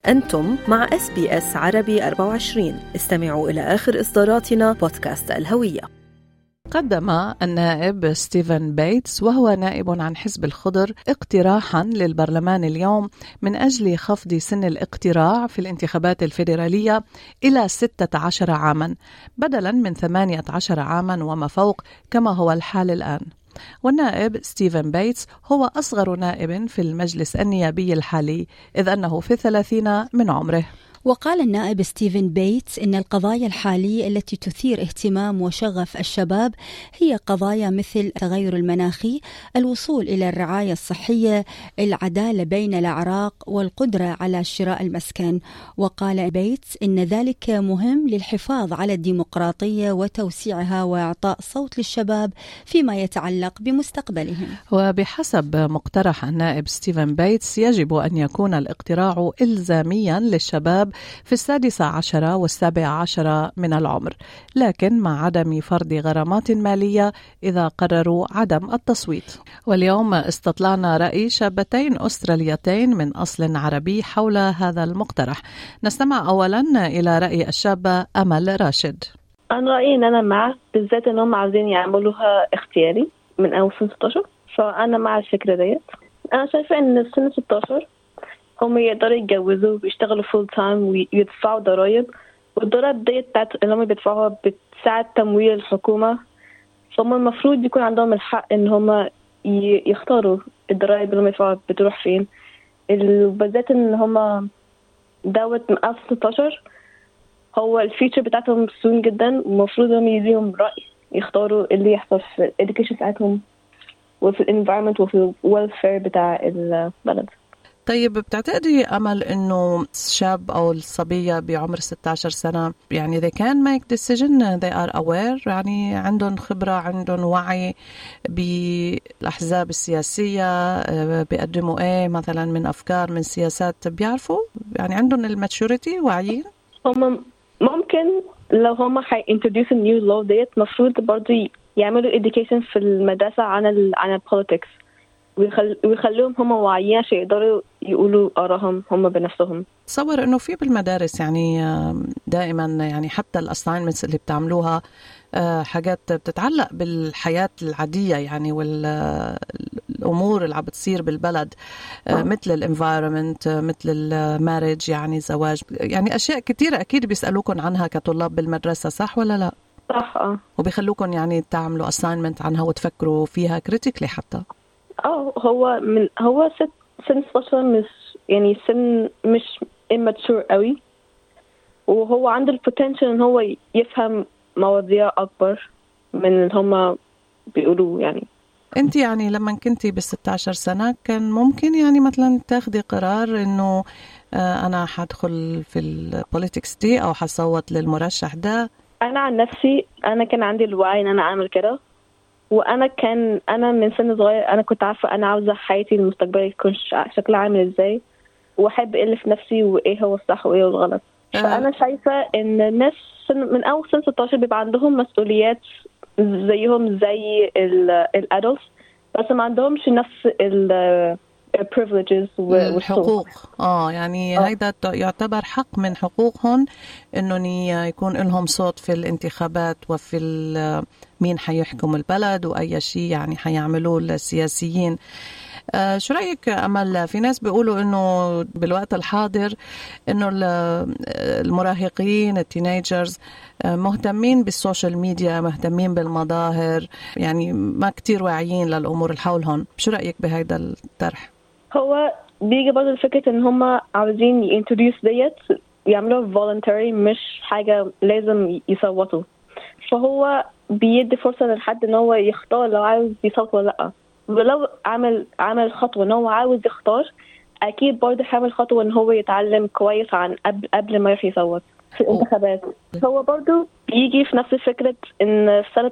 أنتم مع SBS عربي 24. استمعوا إلى آخر إصداراتنا بودكاست الهوية. قدم النائب ستيفن بيتس وهو نائب عن حزب الخضر اقتراحا للبرلمان اليوم من أجل خفض سن الاقتراع في الانتخابات الفيدرالية إلى 16 عاما بدلا من 18 عاما وما فوق كما هو الحال الآن. والنائب ستيفن بيتس هو أصغر نائب في المجلس النيابي الحالي إذ أنه في 30 من عمره. وقال النائب ستيفن بيتس إن القضايا الحالية التي تثير اهتمام وشغف الشباب هي قضايا مثل التغير المناخي، الوصول إلى الرعاية الصحية، العدالة بين الأعراق والقدرة على شراء المسكن. وقال بيتس إن ذلك مهم للحفاظ على الديمقراطية وتوسيعها وإعطاء صوت للشباب فيما يتعلق بمستقبلهم. وبحسب مقترح النائب ستيفن بيتس يجب أن يكون الاقتراع إلزاميا للشباب في 16 و17 من العمر، لكن مع عدم فرض غرامات مالية إذا قرروا عدم التصويت. واليوم استطلعنا رأي شابتين أستراليتين من أصل عربي حول هذا المقترح. نستمع أولا إلى رأي الشابة أمل راشد. أنا رأيي إن أنا مع، بالذات إنهم عاوزين يعملوها اختياري من أول سن 16، فأنا مع الفكرة ديت. أنا شايفة إن سن 16 هم يقدروا يتجوزوا ويشتغلوا فول تايم ويدفعوا ضرائب، والضرائب ديت بتاعت اللي هم بيدفعوها بتساعد تمويل الحكومة، فهم المفروض يكون عندهم الحق إن هم يختاروا الضرائب اللي هم يدفعوها بتروح فين، بالذات إن هم دوت من 16 هو الفيتشر بتاعتهم سون جدا، ومفروض هم يديهم رأي يختاروا اللي يحصل في الإديوكيشن بتاعتهم وفي الانفايرمنت وفي الويلفير بتاع البلد. طيب بتعتقدي أمل إنه الشاب أو الصبية بعمر 16 سنة يعني they can make decision, they are aware، يعني عندهم خبرة، عندهم وعي بالأحزاب السياسية، بيقدموا إيه مثلا من أفكار من سياسات، بيعرفوا يعني عندهم الماتشوريتي، واعيين؟ هم ممكن لو هم introduce a new law ديت مفروض برضو يعملوا education في المدرسة عن politics، ويخلوهم هم واعيين عشان يقدروا يقولوا آراءهم هم بنفسهم. تصور إنه في بالمدارس يعني دائما يعني حتى الأساينمنتس اللي بتعملوها حاجات بتتعلق بالحياة العادية يعني والأمور اللي عم بتصير بالبلد، مثل الانفايرمنت، مثل الماريج يعني الزواج، يعني أشياء كتيرة أكيد بيسألوكم عنها كطلاب بالمدرسة، صح ولا لا؟ صح. وبيخلوكم يعني تعملوا assignment عنها وتفكروا فيها critically حتى. هو سن 16 مش يعني سن مش immature قوي، وهو عنده البوتنشال ان هو يفهم مواضيع اكبر من اللي هم بيقولوه. يعني انت يعني لما كنتي ب16 سنة كان ممكن يعني مثلا تاخدي قرار انه انا حدخل في البوليتكس دي او حصوت للمرشح ده؟ انا عن نفسي انا كان عندي الوعي ان انا اعمل كده، وانا من سن صغير انا كنت عارفه انا عاوزه حياتي المستقبليه يكون شكلها عامل ازاي، واحب ايه اللي في نفسي وايه هو الصح وايه هو الغلط. فانا شايفه ان الناس من اول سن 16 بيبقى عندهم مسؤوليات زيهم زي الادلتس، بس ما عندهمش نفس privileges والحقوق. يعني هيدا يعتبر حق من حقوقهم انه يكون لهم صوت في الانتخابات وفي مين حيحكم البلد واي شيء يعني حيعملوه السياسيين. شو رأيك أمل؟ في ناس بيقولوا إنه بالوقت الحاضر إنه المراهقين التينيجرز مهتمين بالسوشيال ميديا، مهتمين بالمظاهر، يعني ما كتير واعيين للأمور اللي حولهم. شو رأيك بهذا الطرح؟ هو بيجي برضه الفكرة إن هم عاوزين يintroduce ديت يعملوها voluntary، مش حاجة لازم يصوتوا، فهو بيدي فرصة للحد إن هو يختار لو عاوز يصوت ولا لأ. ولو عمل خطوة إن هو عاوز يختار، أكيد برضه هيعمل خطوة إن هو يتعلم كويس عن قبل ما يروح يصوت في الانتخابات. هو برضه بيجي في نفس فكرة إن سنة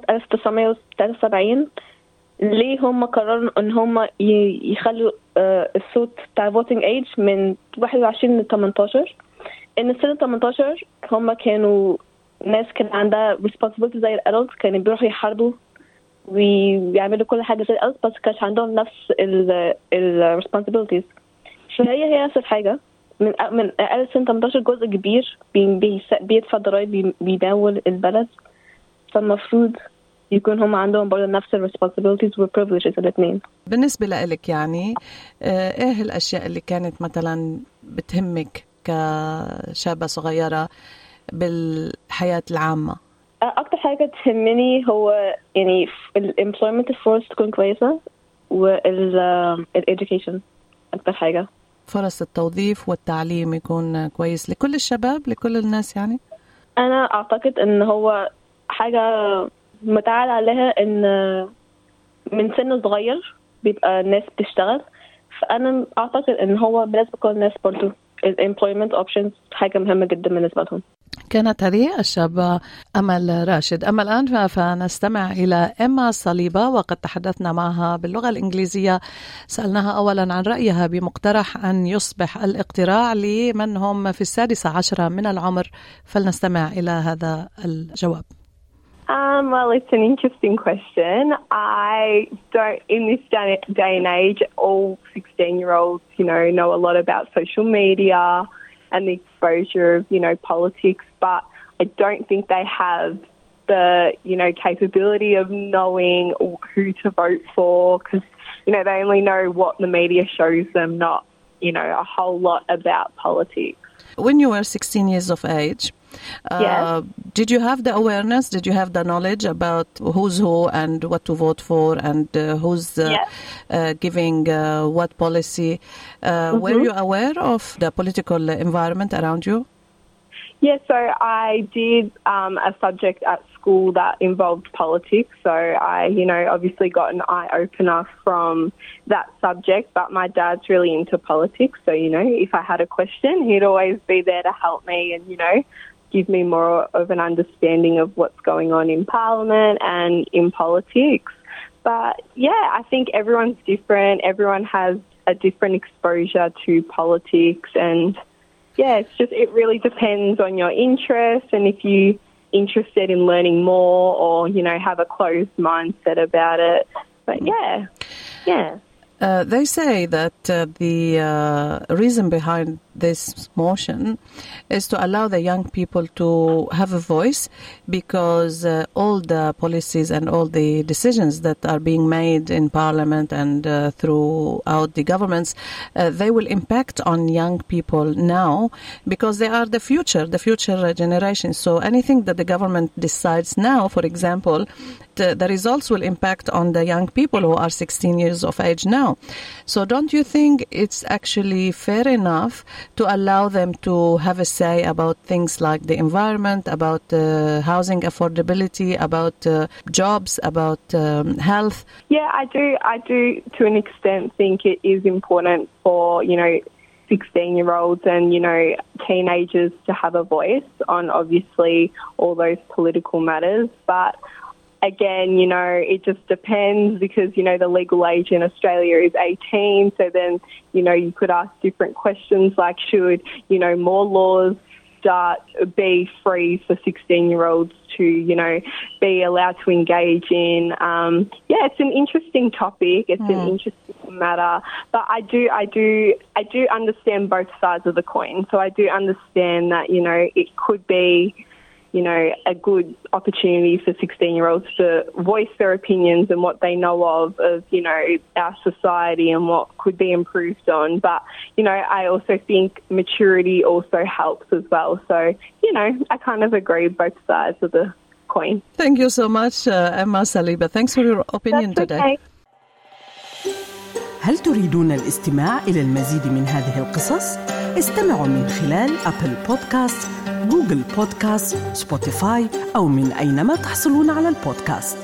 1973 ليه هم قرروا إن هم يخلوا الصوت بتاع voting age من 21 ل 18. إن سنة 18 هم كانوا ناس كان عندها responsibility زي الادلت، كانوا بيروحوا يحاربوا ويعملوا كل حاجة زي الادلت، بس كانش عندهم نفس responsibilities. فهي نفس الحاجة، من أقل سن 18 جزء كبير بيدفع ضرايب، بيمول البلد، فالمفروض يكون هم عندهم برضه نفس ال responsibilities و privileges الاثنين. بالنسبة لك يعني إيه الأشياء اللي كانت مثلا بتهمك كشابة صغيرة بالحياة العامة؟ أكتر حاجة تهمني هو يعني ال employment force تكون كويسة وال education. أكتر حاجة فرص التوظيف والتعليم يكون كويس لكل الشباب، لكل الناس يعني. أنا أعتقد إن هو حاجة متعال عليها إن من سن صغير بيبقى الناس بتشتغل، فأنا أعتقد إن هو بالنسبة لكل الناس برضو employment options حاجة مهمة جدا بالنسبة لهم. كانت هذه الشابة أمل راشد. أما الآن فنستمع إلى إما صليبة، وقد تحدثنا معها باللغة الإنجليزية. سألناها أولا عن رأيها بمقترح أن يصبح الاقتراع لمن هم في 16 من العمر، فلنستمع إلى هذا الجواب. Well, it's an interesting question. I don't, in this day and age, all 16-year-olds, know a lot about social media and the exposure of, politics, but I don't think they have the, capability of knowing who to vote for, because, they only know what the media shows them, not, a whole lot about politics. When you were 16 years of age, yes. Did you have the awareness? Did you have the knowledge about who's who and what to vote for and who's giving what policy? Were you aware of the political environment around you? Yes, so I did a subject at school that involved politics. So I, obviously got an eye-opener from that subject, but my dad's really into politics. So, if I had a question, he'd always be there to help me and, give me more of an understanding of what's going on in Parliament and in politics. But, yeah, I think everyone's different. Everyone has a different exposure to politics and, yeah, it really depends on your interest and if you're interested in learning more or, have a closed mindset about it. But, yeah. They say that the reason behind this motion is to allow the young people to have a voice, because all the policies and all the decisions that are being made in Parliament and throughout the governments, they will impact on young people now, because they are the future generation. So anything that the government decides now, for example, the results will impact on the young people who are 16 years of age now. So don't you think it's actually fair enough to allow them to have a say about things like the environment, about housing affordability, about jobs, about health? Yeah, I do to an extent think it is important for, 16-year-olds and, teenagers to have a voice on obviously all those political matters. But again, it just depends because, the legal age in Australia is 18. So then, you could ask different questions like should, more laws be free for 16-year-olds to, be allowed to engage in. It's an interesting topic. It's an interesting matter. But I do understand both sides of the coin. So I do understand that, it could be, a good opportunity for 16-year-olds to voice their opinions and what they know of, our society and what could be improved on. But, I also think maturity also helps as well. So, I kind of agree with both sides of the coin. Thank you so much, Emma Saliba. Thanks for your opinion today. هل تريدون الاستماع إلى المزيد من هذه القصص؟ استمعوا من خلال أبل بودكاست، جوجل بودكاست، سبوتيفاي أو من أينما تحصلون على البودكاست.